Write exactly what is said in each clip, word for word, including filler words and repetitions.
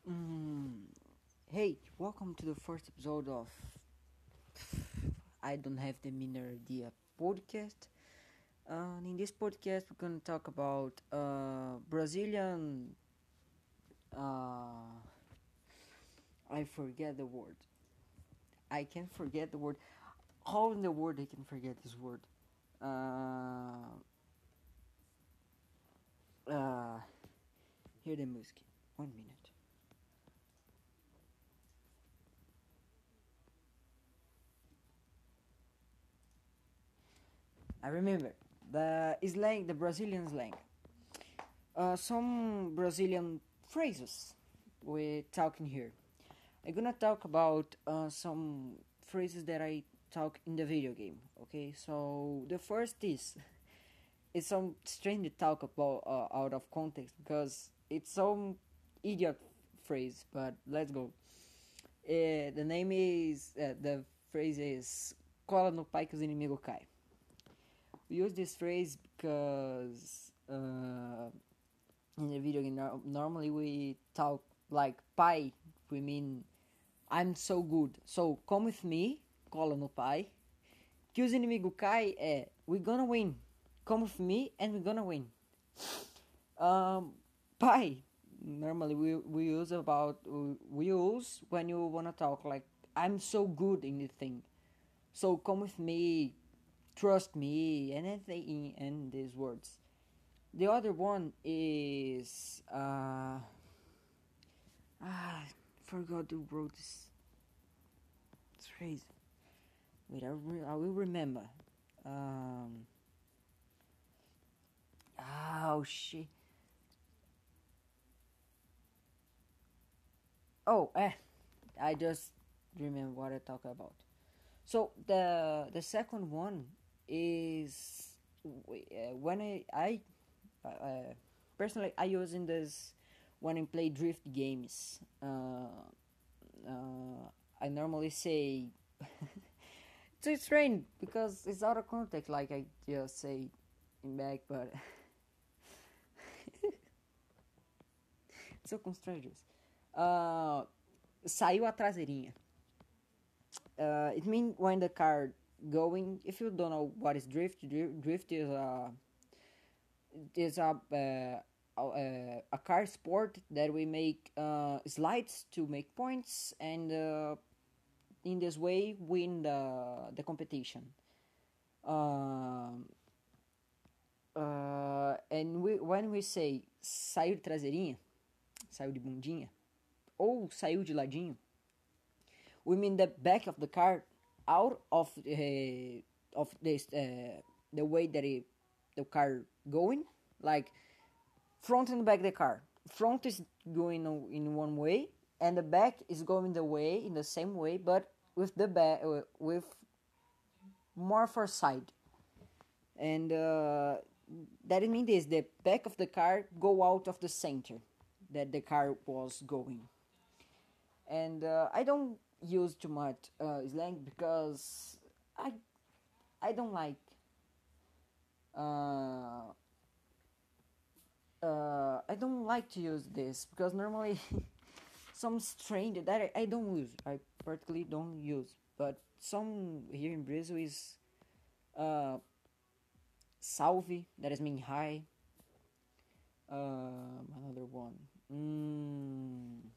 Mm, hey, welcome to the first episode of I Don't Have the Minor Idea podcast. Uh, in this podcast, we're gonna talk about uh, Brazilian. Uh, I forget the word. I can forget the word. How in the world I can forget this word? Uh, uh, Hear the music. One minute. I remember the slang, the Brazilian slang. Uh, some Brazilian phrases we're talking here. I'm gonna talk about uh, some phrases that I talk in the video game. Okay, so the first is it's some strange to talk about uh, out of context because it's some idiot phrase. But let's go. Uh, the name is uh, the phrase is "cola no pai que os inimigos cai." We use this phrase because uh, in the video game no- normally we talk like pai. We mean I'm so good. So come with me, cola no pai. Que os inimigos cai é we're gonna win. Come with me and we're gonna win. Um, pai. Normally we we use about we use when you wanna talk like I'm so good in the thing. So come with me, trust me, and anything in these words. The other one is uh ah forgot who wrote this. It's crazy. Wait, I, re- I will remember. Um. Oh shit. Oh, eh. I just remember what I talk about. So the the second one is uh, when I I uh, uh, personally I using this when I play drift games. Uh, uh, I normally say it's strange because it's out of context. Like I just say in back, but so com strangers. Uh, Saiu a traseirinha. Uh, it means when the car going. If you don't know what is drift, drift, drift is a is a uh, a, a car sport that we make uh, slides to make points and uh, in this way win the the competition. Um, uh, and we, when we say saiu de traseirinha, saiu de bundinha, ou saiu de ladinho, we mean the back of the car out of uh, of this uh, the way that it, the car going, like front and back the car. Front is going in one way, and the back is going the way in the same way, but with the back uh, with more for side. And uh, that means this: the back of the car go out of the center that the car was going. And uh, I don't use too much uh, slang because I I don't like uh, uh, I don't like to use this because normally some strange that I, I don't use. I particularly don't use, but some here in Brazil is uh, salve, that is mean hi. Um, another one. Mm,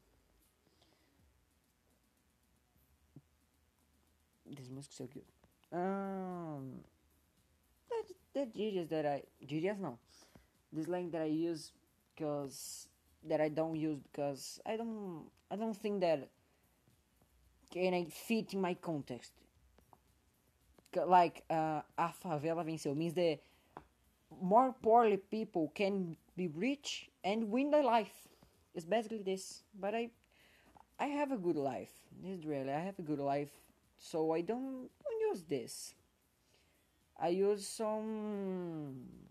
this music's so good. Um, that that genius that I genius no. This slang that I use because that I don't use because I don't I don't think that can I fit in my context. Like uh, a favela venceu means that more poorly people can be rich and win their life. It's basically this. But I I have a good life. This is really I have a good life, so I don't, don't use this. I use some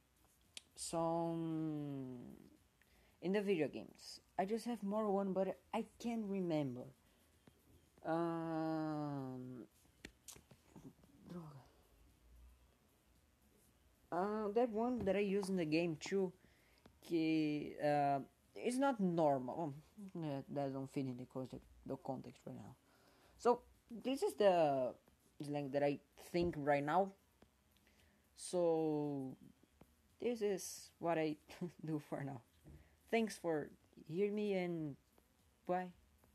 some in the video games. I just have more one, but I can't remember. Um, droga. Uh, that one that I use in the game too, que uh, it's not normal. Um, yeah, that don't fit in the context, the context right now. So this is the slang that I think right now. So this is what I do for now. Thanks for hearing me and bye.